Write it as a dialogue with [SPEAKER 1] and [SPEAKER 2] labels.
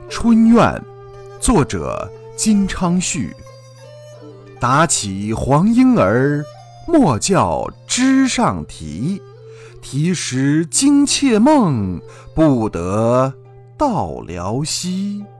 [SPEAKER 1] 春怨，作者金昌绪。打起黄莺儿，莫教枝上啼。啼时惊妾梦，不得到辽西。